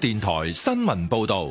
電台新聞報道。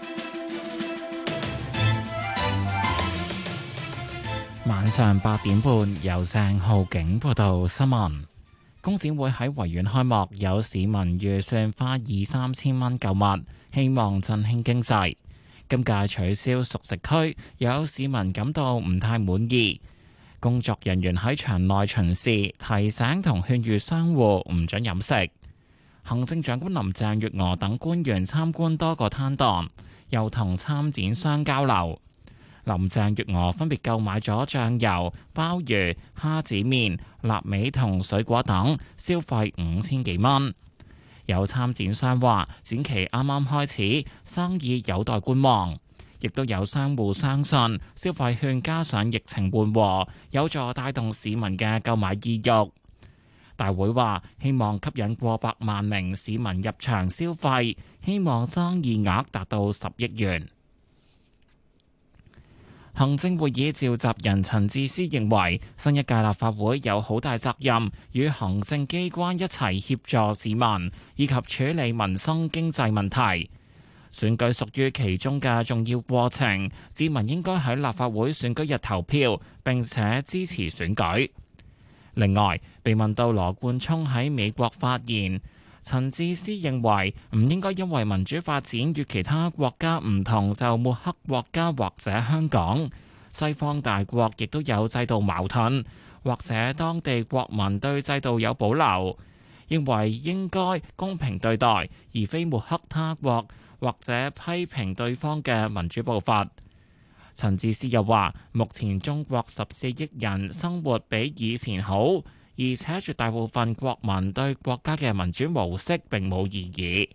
晚上8點半，由鄭浩景報道新聞。工展會喺維園開幕，有市民預算花2-3千蚊購物，希望振興經濟。今屆取消熟食區，有市民感到唔太滿意。工作人員喺場內巡視，提醒同勸喻商戶唔准飲食。行政長官林鄭月娥等官員參觀多個攤檔，又同參展商交流。林鄭月娥分別購買咗醬油、鮑魚、蝦子麵、臘味同水果等，消費5000幾蚊。有參展商話，展期啱啱開始，生意有待觀望。亦都有商戶相信，消費券加上疫情緩和，有助帶動市民嘅購買意欲。大會話，希望吸引過百萬名市民入場消費，希望生意額達到10億元。行政會議召集人陳智思認為，新一屆立法會有好大責任，與行政機關一齊協助市民，以及處理民生經濟問題。選舉屬於其中嘅重要過程，市民應該喺立法會選舉日投票，並且支持選舉。另外，被問到羅冠聰喺美國發言，陳智思認為唔應該因為民主發展與其他國家唔同就抹黑國家或者香港。西方大國亦都有制度矛盾，或者當地國民對制度有保留，認為應該公平對待，而非抹黑他國或者批評對方嘅民主步伐。陳智思又話，目前中國14億人生活比以前好，而且絕大部分國民對國家嘅民主模式並冇異議。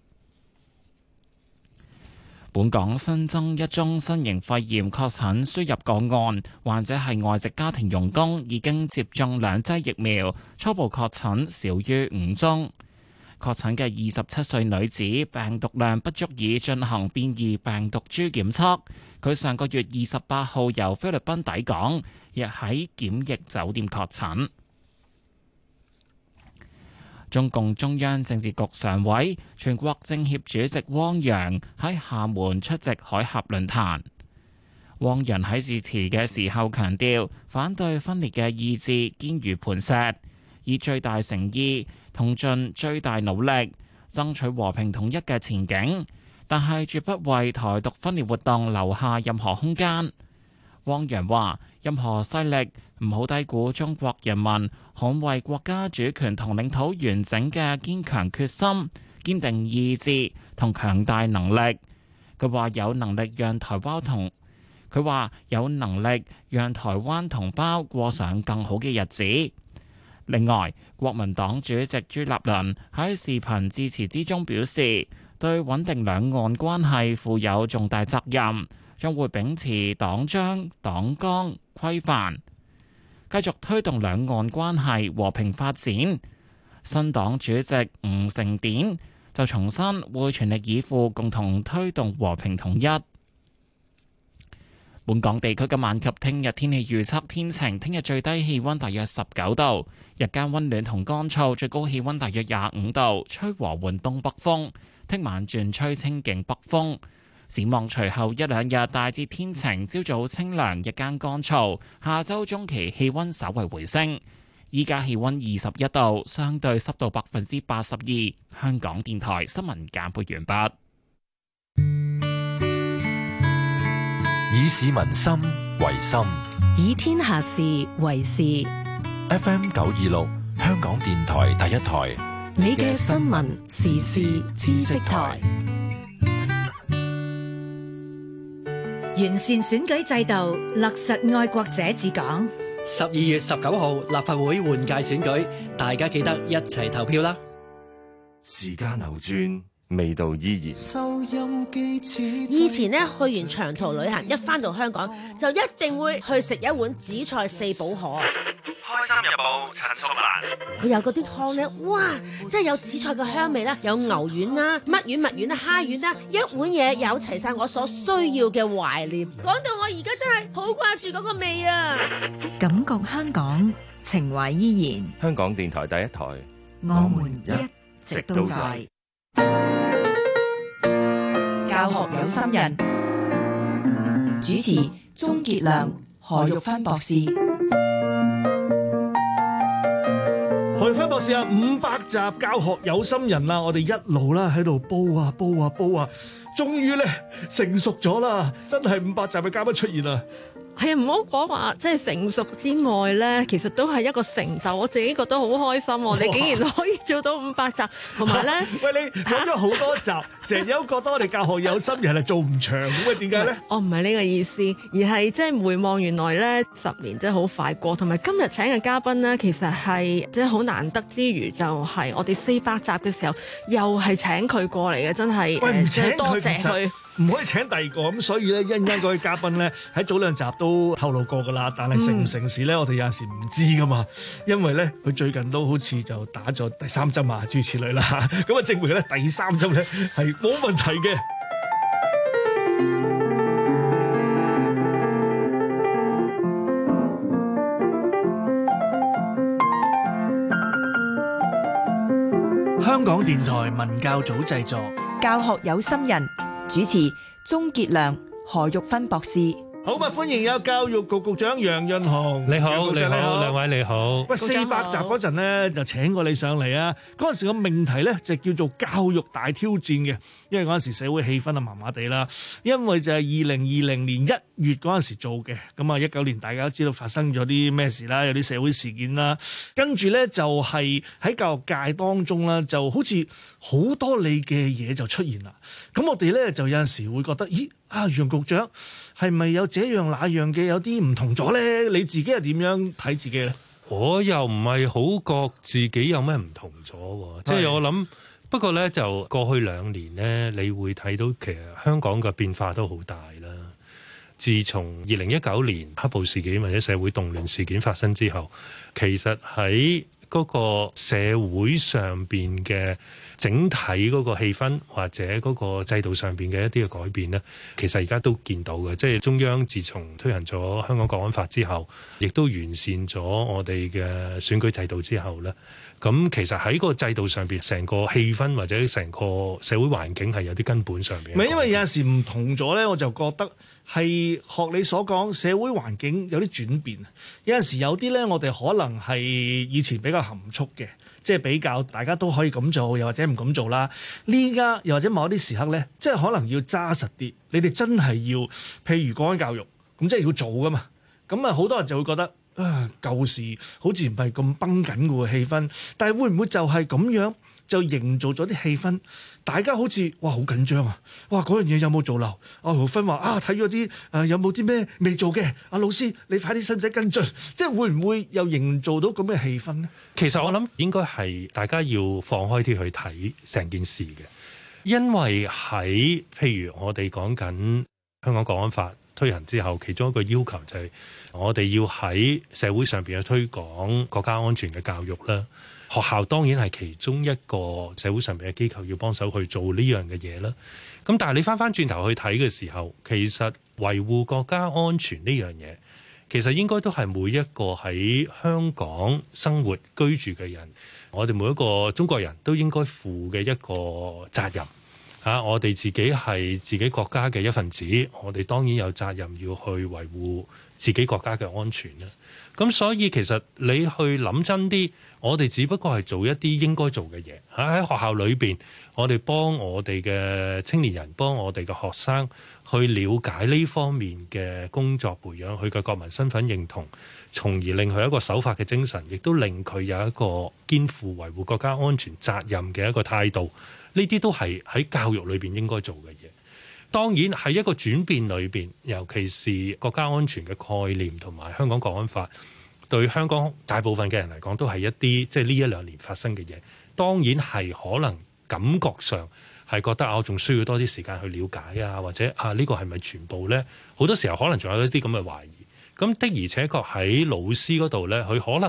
本港新增1宗新型肺炎確診輸入個案，患者係外籍家庭傭工，已經接種2劑疫苗，初步確診少於5宗。確診嘅27歲女子病毒量不足以進行變異病毒株檢測，佢上個月28號由菲律賓抵港，亦喺檢疫酒店確診。中共中央政治局常委、全國政協主席汪洋喺廈門出席海峽論壇。汪洋喺致辭嘅時候強調，反對分裂嘅意志堅如磐石，以最大誠意同盡最大努力爭取和平統一嘅前景，但係絕不為台獨分裂活動留下任何空間。汪洋話：任何勢力唔好低估中國人民捍衛國家主權同領土完整嘅堅強決心、堅定意志同強大能力。佢話有能力讓台灣同胞過上更好嘅日子。另外，國民黨主席朱立倫喺視頻致辭之中表示，對穩定兩岸關係負有重大責任，將會秉持黨章黨綱規範，繼續推動兩岸關係和平發展。新黨主席吳成典就重申會全力以赴共同推動和平統一。本港地區今晚及聽日天氣預測天晴，聽日最低氣溫大約19度，日間溫暖同乾燥，最高氣溫大約25度，吹和緩東北風。聽晚轉吹清勁北風。展望隨後一兩日大致天晴，朝早清涼，日間乾燥。下周中期氣溫稍為回升。依家氣溫21度，相對濕度82%。香港電台新聞簡報完畢。 以市民心為心， 以天下事為事。 FM 926，香港電台第一台， 你嘅新聞時事知識台。 完善選舉制度，落實愛國者治港。 12月19號立法會換屆選舉，大家記得一齊投票啦！ 時間流轉，味道依然。收音機以前呢，去完長途旅行，一返到香港就一定會去食一碗紫菜四寶河。 開心日報陳淑蘭， 佢有嗰啲湯咧，哇！真係有紫菜嘅香味啦，有牛丸啦、乜丸、蜜丸啦、蝦丸啦，一碗嘢有齊晒我所需要嘅懷念。講到我而家真係好掛住嗰個味啊！ 感覺香港，情懷依然。 香港電台第一台， 我們一直都在。 教學有心人，主持鍾傑良、何玉芬博士。 何玉芬博士啊，500集教學有心人啦，我哋一路啦喺度煲啊，終於咧成熟咗啦，真係500集嘅嘉賓出現啦。 係啊，唔好講話即係成熟之外咧，其實都係一個成就。我自己覺得好開心，我哋竟然可以做到500集，同埋咧， 喂，你講咗好多集，成日都覺得我哋教學有心人係做唔長咁啊？點解咧？ 我唔係呢個意思，而係即係回望原來咧10年真係好快過，同埋今日請嘅嘉賓咧，其實係即係好難得之餘，就係我哋400集嘅時候，又係請佢過嚟嘅，真係多謝佢。 唔可以請第二個咁，所以咧一陣間嗰位嘉賓咧喺早2集都透露過噶啦，但係成唔成事咧，我哋有陣時唔知噶嘛，因為咧佢最近都好似就打咗第3針啊，諸如此類啦，咁啊證明咧第3針咧係冇問題嘅。香港電台文教組製作， 教學有心人，主持鍾傑良、何玉芬博士。 好嘛，歡迎有教育局局長楊潤雄。 你好，兩位你好。 喂，400集嗰陣咧就請過你上嚟啊！嗰陣時個命題咧就叫做教育大挑戰嘅，因為嗰陣時社會氣氛啊麻麻地啦，因為就係2020年1月嗰陣時做嘅，咁啊19年大家都知道發生咗啲咩事啦，有啲社會事件啦，跟住咧就係喺教育界當中啦，就好似好多你嘅嘢就出現啦。咁我哋咧就有陣時會覺得，咦啊楊局長係咪有這樣那樣嘅有啲唔同咗咧？你自己係點樣睇自己咧？ 我又唔係好覺自己有咩唔同咗，即係我諗。不過咧，就過去2年咧，你會睇到其實香港嘅變化都好大啦。自從2019年黑暴事件或者社會動亂事件發生之後，其實喺嗰個社會上邊嘅整體嗰個氣氛或者嗰個制度上邊嘅一啲嘅改變呢，其實而家都見到嘅。即係中央自從推行咗香港國安法之後，亦都完善咗我哋嘅選舉制度之後呢，咁其實喺個制度上邊，成個氣氛或者成個社會環境係有啲根本上邊。 唔係，因為有陣時唔同咗咧，我就覺得係學你所講，社會環境有啲轉變。有陣時有啲咧，我哋可能係以前比較含蓄嘅，即係比較大家都可以咁做，又或者唔咁做啦。呢家又或者某一啲時刻咧，即係可能要揸實啲。你哋真係要，譬如講緊教育，咁即係要做噶嘛。咁啊，好多人就會覺得。舊時好似唔係咁繃緊嘅氣氛，但係會唔會就係咁樣就營造咗啲氣氛？大家好似哇好緊張啊！哇嗰樣嘢有冇做漏？何玉芬話睇咗啲有冇啲咩未做嘅？老師你快啲使唔使跟進？即係會唔會又營造到咁嘅氣氛呢？ 其實我諗應該係大家要放開啲去睇成件事嘅，因為喺譬如我哋講緊香港國安法推行之後，其中一個要求就係我哋要喺社會上邊去推廣國家安全嘅教育啦。學校當然係其中一個社會上邊嘅機構要幫手去做呢樣嘅嘢啦。咁但係你翻轉頭去睇嘅時候，其實維護國家安全呢樣嘢，其實應該都係每一個喺香港生活居住嘅人，我哋每一個中國人都應該負嘅一個責任。我哋自己係自己國家嘅一份子，我哋當然有責任要去維護自己國家嘅安全啦。咁所以其實你去諗真啲，我哋只不過係做一啲應該做嘅嘢。喺學校裏邊，我哋幫我哋嘅青年人，幫我哋嘅學生去了解呢方面嘅工作，培養佢嘅國民身份認同，從而令佢一個守法嘅精神，亦都令佢有一個肩負維護國家安全責任嘅一個態度。呢啲都係喺教育裏邊應該做嘅嘢。當然喺一個轉變裏邊，尤其是國家安全嘅概念同埋香港國安法，對香港大部分嘅人嚟講，都係一啲即係呢1-2年發生嘅嘢。當然係可能感覺上係覺得我仲需要多啲時間去了解啊，或者呢個係咪全部呢？好多時候可能仲有一啲咁嘅懷疑。咁的而且確喺老師嗰度呢，佢可能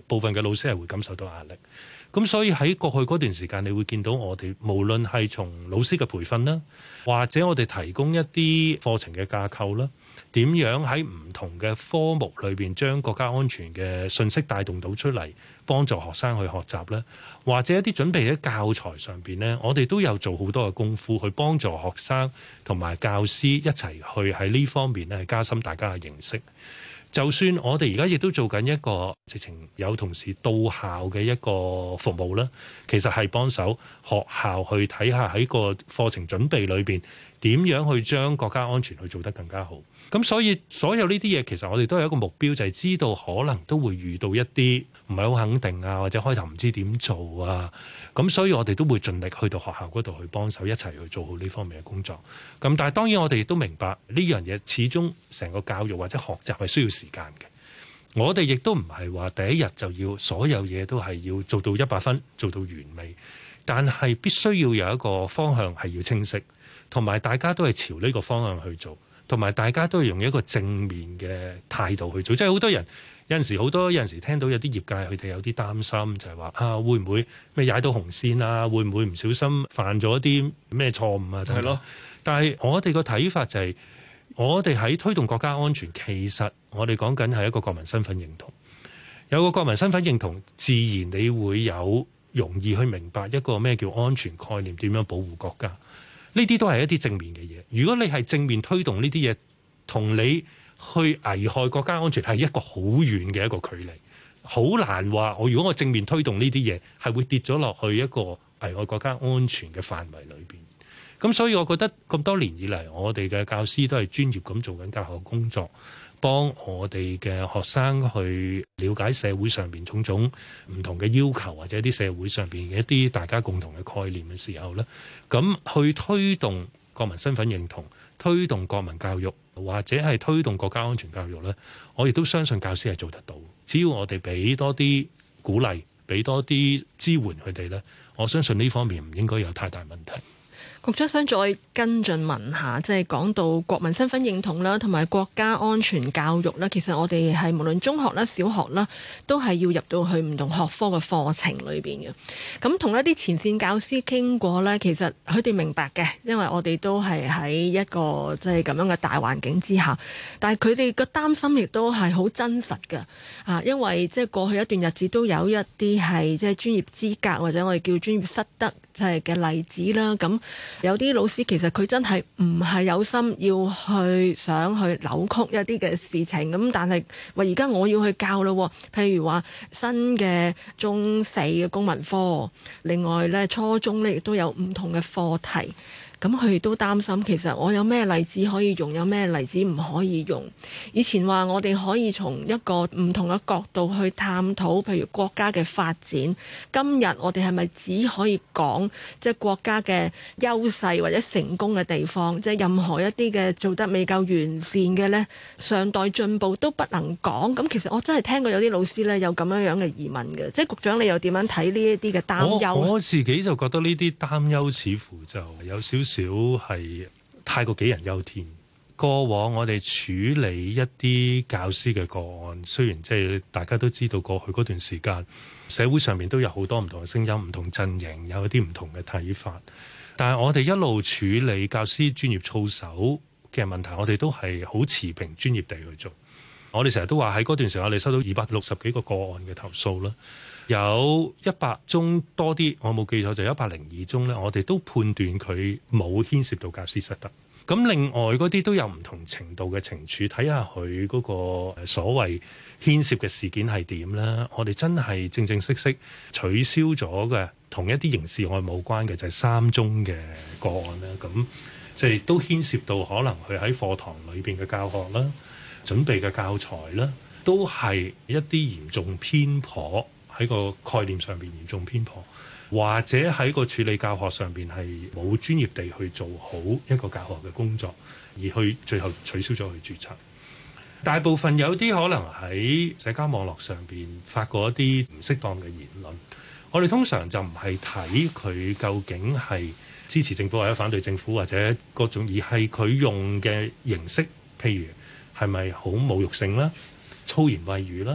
部分嘅老師係會感受到壓力。咁所以喺過去嗰段時間，你會見到我哋無論係從老師嘅培訓啦，或者我哋提供一啲課程嘅架構啦，點樣喺唔同嘅科目裏邊將國家安全嘅信息帶動到出嚟，幫助學生去學習咧，或者一啲準備喺教材上邊咧，我哋都有做好多嘅功夫去幫助學生同埋教師一齊去喺呢方面咧加深大家嘅認識。就算我哋而家亦都做緊一個直情有同事到校嘅一個服務啦，其實係幫手學校去睇下喺個課程準備裏邊點樣去將國家安全去做得更加好。咁所以所有呢啲嘢其實我哋都有一個目標，就係知道可能都會遇到一啲唔係好肯定啊，或者開頭唔知點做啊。咁所以我哋都會盡力去到學校嗰度去幫手，一齊去做好呢方面嘅工作。咁但係當然我哋亦都明白呢樣嘢始終成個教育或者學習係需要時間嘅。我哋亦都唔係話第一日就要所有嘢都係要做到100分，做到完美。但係必須要有一個方向係要清晰，同埋大家都係朝呢個方向去做。同埋大家都係用一個正面嘅態度去做，即係好多人有陣時聽到有啲業界佢哋有啲擔心，就係話會唔會咩踩到紅線啊？會唔會唔小心犯咗啲咩錯誤啊？係咯。但係我哋個睇法就係，我哋喺推動國家安全，其實我哋講緊係一個國民身份認同。有個國民身份認同，自然你會有容易去明白一個咩叫安全概念，點樣保護國家。呢啲都係一啲正面嘅嘢。如果你係正面推動呢啲嘢，同你去危害國家安全係一個好遠嘅一個距離，好難話如果我正面推動呢啲嘢，係會跌咗落去一個危害國家安全嘅範圍裏邊。咁所以我覺得咁多年以嚟，我哋嘅教師都係專業咁做緊教學工作，幫我哋嘅學生去了解社會上邊種種唔同嘅要求，或者啲社會上邊嘅一啲大家共同嘅概念嘅時候咧，咁去推動國民身份認同、推動國民教育，或者係推動國家安全教育咧，我亦都相信教師係做得到。只要我哋俾多啲鼓勵，俾多啲支援佢哋咧，我相信呢方面唔應該有太大問題。 局長想再跟進問下，即係講到國民身份認同啦，同埋國家安全教育啦，其實我哋係無論中學啦、小學啦，都係要入到去唔同學科嘅課程裏邊嘅。咁同一啲前線教師傾過咧，其實佢哋明白嘅，因為我哋都係喺一個即係咁樣嘅大環境之下，但係佢哋個擔心亦都係好真實嘅啊，因為即係過去一段日子都有一啲係即係專業資格或者我哋叫專業失德就係嘅例子啦。咁有啲老師其實佢真係唔係有心要去想去扭曲一啲嘅事情，咁但係話而家我要去教咯，譬如話新嘅中4嘅公民科，另外咧初中咧亦都有唔同嘅課題。咁佢哋都擔心，其實我有咩例子可以用，有咩例子唔可以用。以前話我哋可以從一個唔同嘅角度去探討，譬如國家嘅發展。今日我哋係咪只可以講即係國家嘅優勢或者成功嘅地方？即係任何一啲嘅做得未夠完善嘅呢，尚待進步都不能講。咁其實我真係聽過有啲老師呢有咁樣嘅疑問嘅，即係局長你又點樣睇呢一啲嘅擔憂？ 我自己就覺得呢啲擔憂似乎就有少係太過杞人憂天。過往我哋處理一啲教師嘅個案，雖然即係大家都知道過去嗰段時間社會上面都有好多唔同嘅聲音、唔同陣營有一啲唔同嘅睇法，但係我哋一路處理教師專業操守嘅問題，我哋都係好持平專業地去做。我哋成日都話喺嗰段時間我哋收到260幾個個案嘅投訴啦，有100宗多啲，我冇記錯就102宗咧，我哋都判斷佢冇牽涉到教師失德。咁另外嗰啲都有唔同程度嘅懲處，睇下佢嗰個所謂牽涉嘅事件係點啦。我哋真係正正式式取消咗嘅，同一啲刑事案冇關嘅就係3宗嘅個案啦。咁即係都牽涉到可能佢喺課堂裏邊嘅教學啦、準備嘅教材啦，都係一啲嚴重偏頗，喺個概念上邊嚴重偏頗，或者喺個處理教學上邊係冇專業地去做好一個教學嘅工作，而去最後取消咗佢註冊。大部分有啲可能喺社交網絡上邊發過一啲唔適當嘅言論，我哋通常就唔係睇佢究竟係支持政府或者反對政府或者各種，而係佢用嘅形式，譬如係咪好侮辱性啦、粗言穢語啦，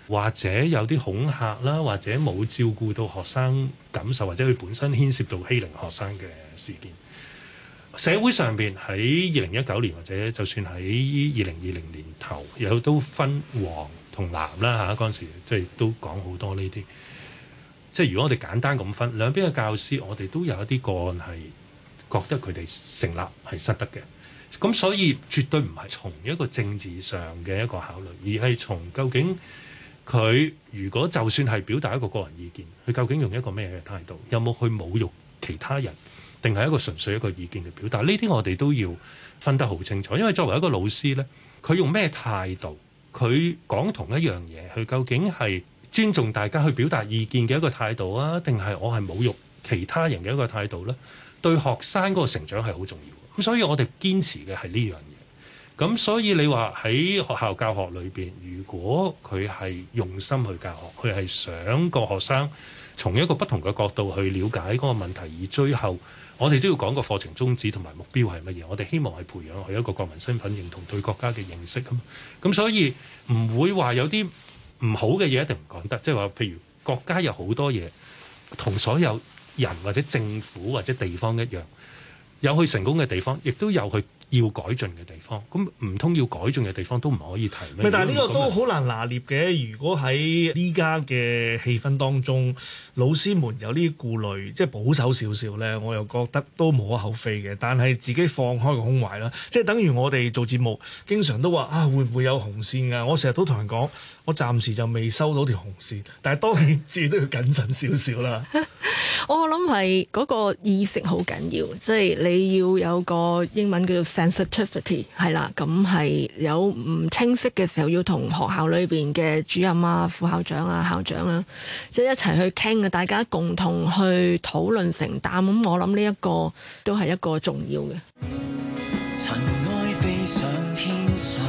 或者有啲恐嚇啦，或者冇照顧到學生感受，或者佢本身牽涉到欺凌學生嘅事件。社會上邊喺2019年或者就算喺2020年頭，有都分黃同藍啦嚇，嗰陣時即係都講好多呢啲。即係如果我哋簡單咁分兩邊嘅教師，我哋都有一啲個案係覺得佢哋成立係失德嘅。咁所以絕對唔係從一個政治上嘅一個考慮，而係從究竟佢如果就算係表達一個個人意見，佢究竟用一個咩嘅態度，有冇去侮辱其他人，定係一個純粹一個意見嘅表達？呢啲我哋都要分得好清楚。因為作為一個老師呢，佢用咩態度，佢講同一樣嘢，佢究竟係尊重大家去表達意見嘅一個態度啊，定係我係侮辱其他人嘅一個態度呢？對學生嗰個成長係好重要。咁所以我哋堅持嘅係呢樣嘢。咁所以你話喺學校教學裏邊，如果佢係用心去教學，佢係想個學生從一個不同嘅角度去了解嗰個問題，而最後我哋都要講個課程宗旨同埋目標係乜嘢。我哋希望係培養佢一個國民身份認同、對國家嘅認識啊嘛。咁所以唔會話有啲唔好嘅嘢一定唔講得，即係話譬如國家有好多嘢同所有人或者政府或者地方一樣。有佢成功嘅地方，亦都有佢要改進嘅地方。咁唔通要改進嘅地方都唔可以提咩？ 但係呢個都好難拿捏嘅。如果喺呢家嘅氣氛當中，老師們有呢啲顧慮，即係保守少少咧，我又覺得都無可厚非嘅。但係自己放開個胸懷啦，即係等於我哋做節目，經常都話啊，會唔會有紅線㗎？我成日都同人講，我暫時就未收到條紅線，但係當然自己都要謹慎少少啦。 我諗係嗰個意識好緊要，即係你要有個英文叫做 sensitivity， 係啦，咁係有唔清晰嘅時候，要同學校裏邊嘅主任啊、副校長啊、校長啊，即係一齊去傾嘅，大家共同去討論承擔。咁我諗呢一個都係一個重要嘅。 塵埃飛上天上，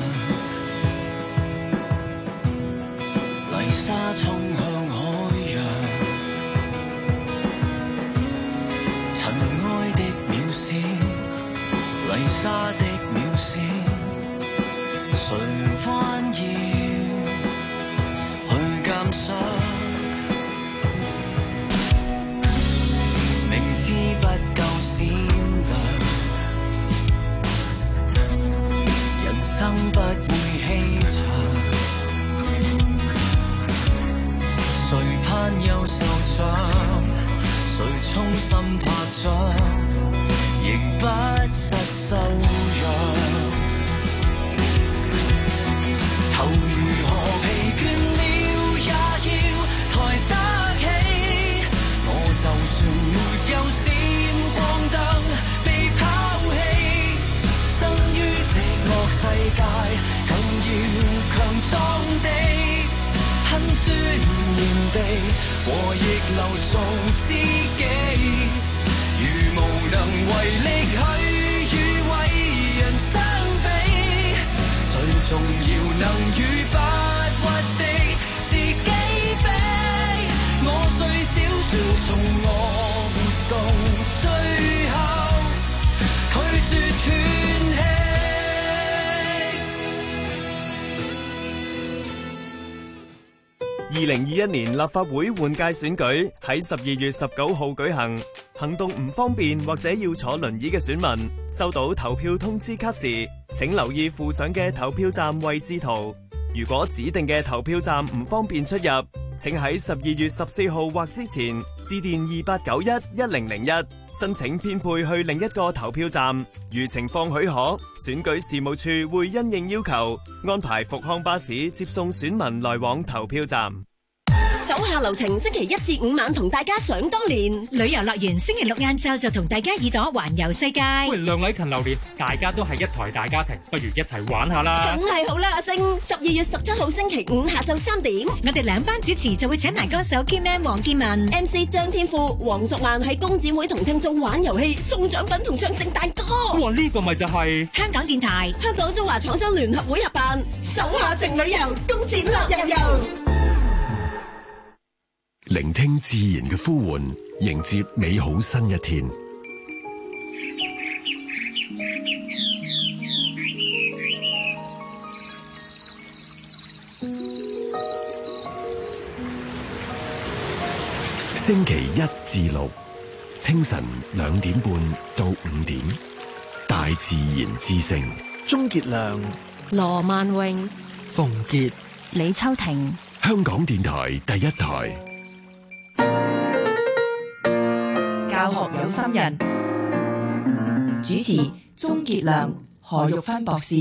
泥沙衝向海洋。塵埃的渺小，泥沙的渺小，誰彎腰去鑑賞？明知不夠閃亮，人生不會欺場，誰攀優秀獎？誰衷心拍掌，仍不失修養。頭如何疲倦了，也要抬得起。我就算沒有閃光燈，被拋棄，生於這惡世界，更要強壯地。很尊嚴地和逆流做知己，如無能為力去與為人相比，最重要能與不屈的自己比。我最少尊重我活動，最後拒絕斷氣。 2021年立法會換屆選舉喺12月19號舉行，行動唔方便或者要坐輪椅嘅選民，收到投票通知卡時，請留意附上嘅投票站位置圖。如果指定嘅投票站唔方便出入，請喺12月14號或之前致電28911001申請編配去另一個投票站。如情況許可，選舉事務處會因應要求安排復康巴士接送選民來往投票站。 手下留情，星期1至5晚同大家想當年。 旅遊樂園星期6晏晝就同大家耳朵環遊世界。 喂，梁禮勤榴蓮，大家都係一台大家庭，不如一齊玩下啦。 梗係好啦，阿星，12月17號星期5下晝3點， 我哋兩班主持就會請埋歌手 Kman 黃建文、 MC 張天賦、黃淑曼喺工展會同聽眾玩遊戲、送獎品同唱聖誕歌。 哇，呢個咪就係香港電台、 香港中華廠商聯合會合辦手下城旅遊工展樂悠悠。 聆聽自然嘅呼喚，迎接美好新一天。 星期一至六清晨2點半到5點，大自然之聲。 鍾傑良、 羅萬榮、 馮傑、 李秋婷， 香港電台第一台。 教學有心人，主持鍾傑良、何玉芬博士。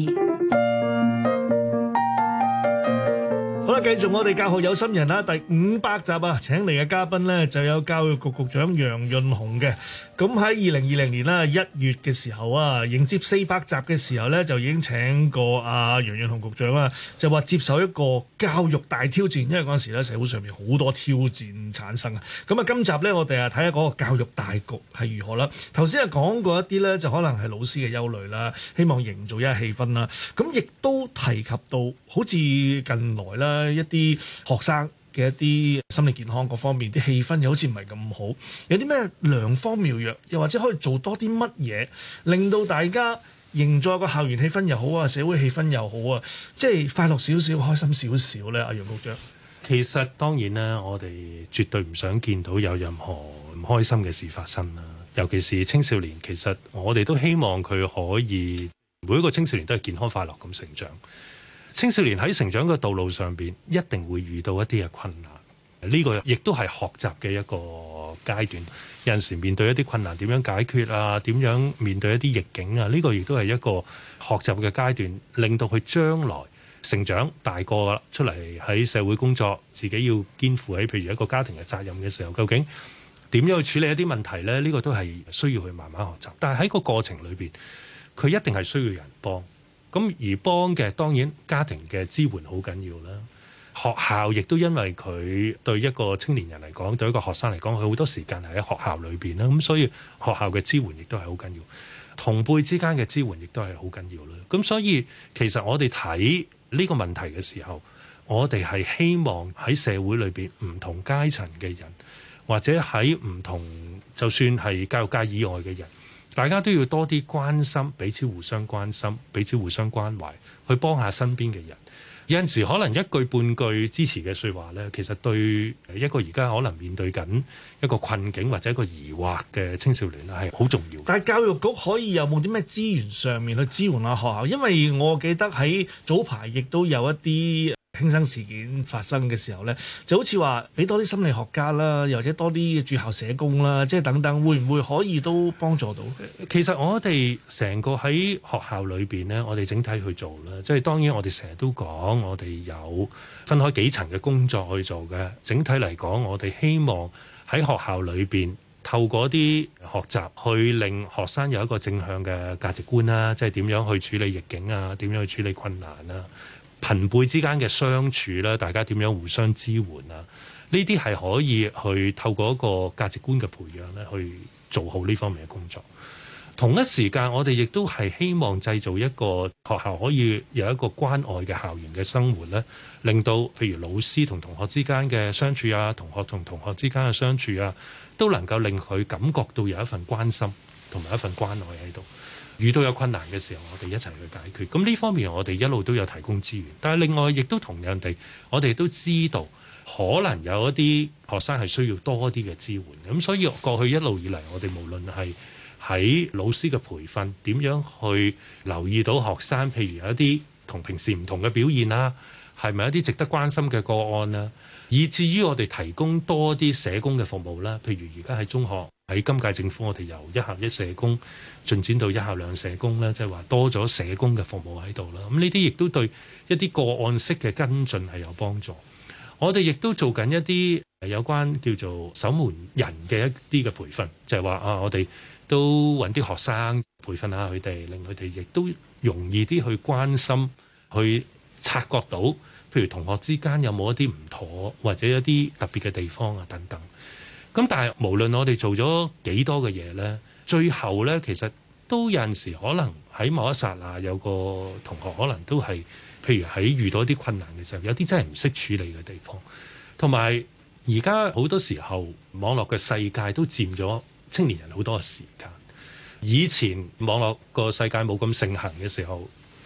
好啦，繼續我哋教學有心人啦，第500集啊，請嚟嘅嘉賓呢就有教育局局長楊潤雄嘅。咁喺2020年啦1月嘅時候啊，迎接400集嘅時候呢，就已經請過阿楊潤雄局長啦，就話接受一個教育大挑戰，因為嗰陣時咧社會上面好多挑戰產生啊。咁啊，今集呢，我哋啊睇下嗰個教育大局係如何啦。頭先啊講過一啲呢，就可能係老師嘅憂慮啦，希望營造一下氣氛啦。咁亦都提及到好似近來啦一啲學生嘅一啲心理健康各方面啲氣氛又好似唔係咁好，有啲咩良方妙藥，又或者可以做多啲乜嘢，令到大家營造個校園氣氛又好啊，社會氣氛又好啊，即係快樂少少、開心少少咧。阿楊局長， 其實當然啦，我哋絕對唔想見到有任何唔開心嘅事發生啦。尤其是青少年，其實我哋都希望佢可以每一個青少年都係健康快樂咁成長。青少年喺成長嘅道路上邊，一定會遇到一啲嘅困難。呢個亦都係學習嘅一個階段。有陣時面對一啲困難，點樣解決啊？點樣面對一啲逆境啊？呢個亦都係一個學習嘅階段，令到佢將來成長大個出嚟喺社會工作，自己要肩負起譬如一個家庭嘅責任嘅時候，究竟點樣去處理一啲問題呢？呢個都係需要去慢慢學習。但係喺個過程裏邊，佢一定係需要人幫。咁而幫嘅當然家庭嘅支援好緊要啦，學校亦都因為佢對一個青年人嚟講，對一個學生嚟講，佢好多時間係喺學校裏邊啦，咁所以學校嘅支援亦都係好緊要，同輩之間嘅支援亦都係好緊要啦。咁所以其實我哋睇呢個問題嘅時候，我哋係希望喺社會裏邊唔同階層嘅人，或者喺唔同就算係教育界以外嘅人，大家都要多啲關心，彼此互相關心，彼此互相關懷，去幫下身邊嘅人。有陣時可能一句半句支持嘅説話呢，其實對一個而家可能面對緊一個困境或者一個疑惑嘅青少年係好重要。 但係教育局可以有冇啲咩資源上面去支援下學校？因為我記得喺早排亦都有一啲輕生事件發生嘅時候呢，就好似話俾多啲心理學家啦，又或者多啲駐校社工啦，即係等等，會唔會可以都幫助到？ 其實我哋成個喺學校裏邊呢，我哋整體去做啦，即係當然我哋成日都講，我哋有分開幾層嘅工作去做嘅。整體嚟講，我哋希望喺學校裏邊透過啲學習，去令學生有一個正向嘅價值觀啦，即係點樣去處理逆境啊，點樣去處理困難啊。朋輩之間嘅相處啦，大家點樣互相支援啊？呢啲係可以去透過一個價值觀嘅培養咧，去做好呢方面嘅工作。同一時間，我哋亦都係希望製造一個學校可以有一個關愛嘅校園嘅生活咧，令到譬如老師同同學之間嘅相處啊，同學同同學之間嘅相處啊，都能夠令佢感覺到有一份關心同埋一份關愛喺度。遇到有困難嘅時候，我哋一齊去解決。咁呢方面我哋一路都有提供資源，但係另外亦都同樣地，我哋都知道可能有一啲學生係需要多啲嘅支援。咁所以過去一路以嚟，我哋無論係喺老師嘅培訓，點樣去留意到學生，譬如有一啲同平時唔同嘅表現啦，係咪一啲值得關心嘅個案啦，以至於我哋提供多啲社工嘅服務啦。譬如而家喺中學，喺今屆政府，我哋由一校一社工進展到一校兩社工咧，即係話多咗社工嘅服務喺度啦。咁呢啲亦都對一啲個案式嘅跟進係有幫助。我哋亦都做緊一啲有關叫做守門人嘅一啲嘅培訓，就係話啊，我哋都揾啲學生培訓下佢哋，令佢哋亦都容易啲去關心，去察覺到，譬如同學之間有冇一啲唔妥，或者一啲特別嘅地方啊等等。咁但係無論我哋做咗幾多嘅嘢呢，最後呢，其實都有陣時可能喺某一剎那有個同學可能都係，譬如喺遇到一啲困難嘅時候，有啲真係唔識處理嘅地方。同埋而家好多時候網絡嘅世界都佔咗青年人好多嘅時間。以前網絡個世界冇咁盛行嘅時候，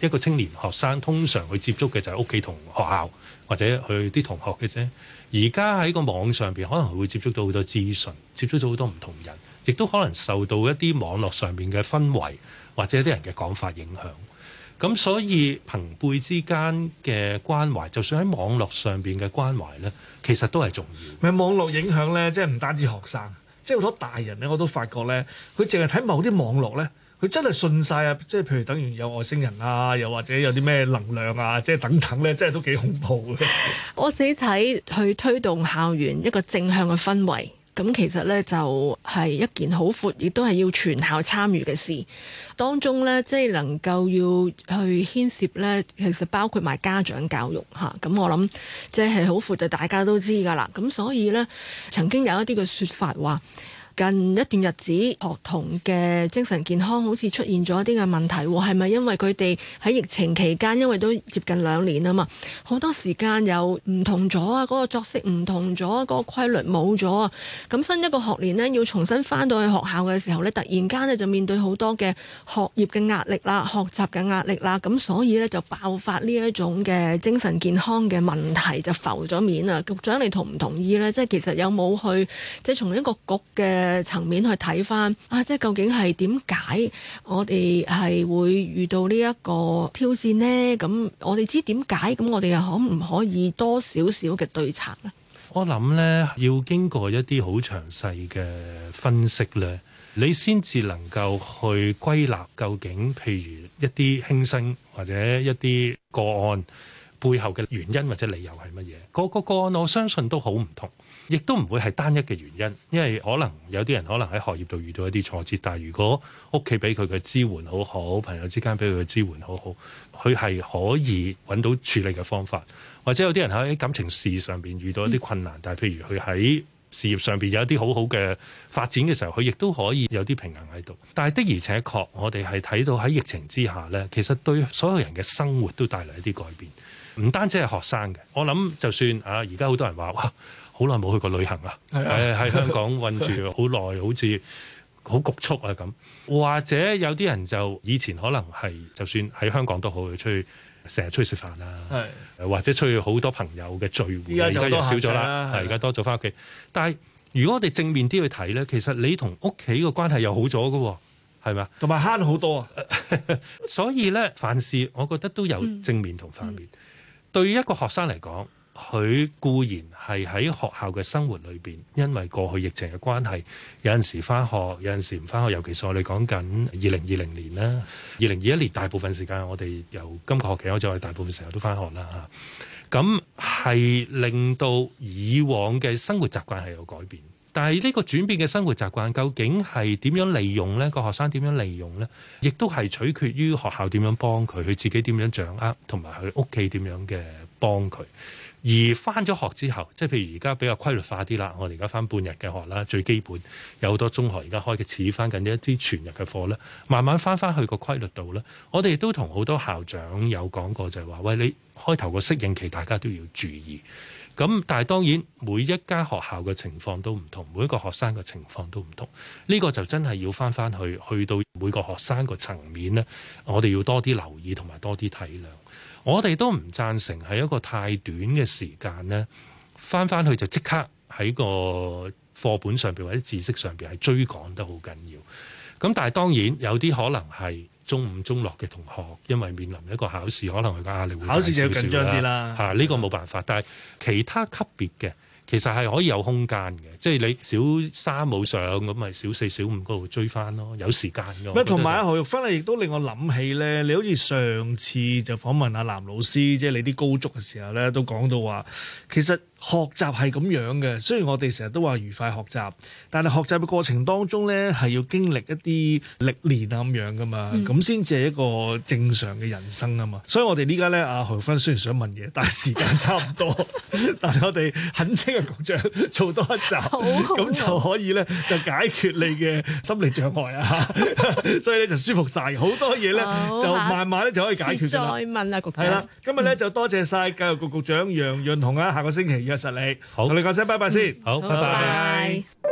一個青年學生通常去接觸嘅就係屋企同學校或者佢啲同學嘅啫。而家喺個網上邊可能會接觸到好多資訊，接觸到好多唔同人，亦都可能受到一啲網絡上邊嘅氛圍或者一啲人嘅講法影響。咁所以朋輩之間嘅關懷，就算喺網絡上邊嘅關懷呢，其實都係重要。 咪網絡影響呢，即係唔單止學生，即係好多大人呢，我都發覺呢，佢淨係睇某啲網絡呢，佢真係信晒啊！即係譬如等於有外星人啊，又或者有啲咩能量啊，即係等等呢，真係都幾恐怖嘅。 我自己睇去推動校園一個正向嘅氛圍。咁其實咧就係一件好闊，亦都係要全校參與嘅事。當中咧，即係能夠要去牽涉咧，其實包括埋家長教育嚇。咁我諗即係好闊，就大家都知㗎啦。咁所以咧，曾經有一啲嘅説法話，近一段日子學童嘅精神健康好似出現咗一啲嘅問題，係咪因為佢哋喺疫情期間，因為都接近2年啊嘛，好多時間又唔同咗啊，嗰個作息唔同咗，嗰個規律冇咗啊，咁新一個學年呢，要重新返到去學校嘅時候呢，突然間呢就面對好多嘅學業嘅壓力啦、學習嘅壓力啦，咁所以呢，就爆發呢一種嘅精神健康嘅問題就浮咗面啊！局長你同唔同意呢？即係其實有冇去即係從一個局嘅層面去睇翻啊，即係究竟係點解我哋係會遇到呢一個挑戰呢？咁我哋知點解，咁我哋又可唔可以多少少嘅對策呢？ 我諗呢，要經過一啲好詳細嘅分析呢，你先至能夠去歸納究竟，譬如一啲輕生或者一啲個案背後嘅原因或者理由係乜嘢？個個案我相信都好唔同。亦都唔會係單一嘅原因，因為可能有啲人可能喺學業度遇到一啲挫折，但係如果屋企俾佢嘅支援好好，朋友之間俾佢嘅支援好好，佢係可以揾到處理嘅方法。或者有啲人喺感情事上邊遇到一啲困難，但係譬如佢喺事業上邊有一啲好好嘅發展嘅時候，佢亦都可以有啲平衡喺度。但係的而且確，我哋係睇到喺疫情之下呢，其實對所有人嘅生活都帶嚟一啲改變，唔單止係學生嘅。我諗就算而家好多人話哇，好耐冇去過旅行啊！喺香港韞住好耐，好似好局促啊咁。或者有啲人就以前可能係就算喺香港都好，去成日出去食飯啦，或者出去好多朋友嘅聚會，而家又少咗啦，而家多咗翻屋企。但係如果我哋正面啲去睇咧，其實你同屋企嘅關係又好咗嘅，係咪？同埋慳好多啊！所以咧，凡事我覺得都有正面同反面。對於一個學生嚟講，佢固然係喺學校嘅生活裏邊，因為過去疫情嘅關係，有陣時返學，有陣時唔返學。尤其是我哋講緊2020年啦，2021年大部分時間我哋由今個學期開始，我哋大部分時候都返學啦。咁係令到以往嘅生活習慣係有改變，但係呢個轉變嘅生活習慣究竟係點樣利用呢？個學生點樣利用呢？亦都係取決於學校點樣幫佢，佢自己點樣掌握，同埋佢屋企點樣嘅幫佢。而返咗學之後，即係譬如而家比較規律化啲啦，我哋而家返半日嘅學啦，最基本有好多中學而家開始返緊一啲全日嘅課咧，慢慢返去個規律度咧。我哋都同好多校長有講過，就係話：喂，你開頭個適應期大家都要注意。咁但係當然每一間學校嘅情況都唔同，每一個學生嘅情況都唔同。呢個就真係要返去到每個學生個層面咧，我哋要多啲留意同埋多啲體諒。我哋都唔贊成係一個太短嘅時間呢，返去就即刻喺個課本上邊或者知識上邊係追趕得好緊要。咁但係當然有啲可能係中五中六嘅同學，因為面臨一個考試，可能佢嘅壓力會大少少啦。考試就緊張啲啦。呢個冇辦法。但係其他級別嘅其實係可以有空間嘅，即係你小三冇上咁，咪小四小五嗰度追翻咯，有時間嘅。同埋何玉芬亦都令我諗起咧，你好似上次就訪問阿藍老師，即係你啲高足嘅時候咧，都講到話其實學習係咁樣嘅。雖然我哋成日都話愉快學習，但係學習嘅過程當中咧，係要經歷一啲歷練啊咁樣噶嘛，咁先至係一個正常嘅人生啊嘛。所以我哋呢家咧，阿何玉芬雖然想問嘢，但係時間差唔多，但係我哋懇請嘅局長做多一集，咁就可以咧就解決你嘅心理障礙啊，所以咧就舒服晒，好多嘢咧就慢慢咧就可以解決㗎啦。再問啦，局長。係啦，今日咧就多謝晒教育局局長楊潤雄啊，下個星期約實你，同你講聲拜拜先。好，拜拜。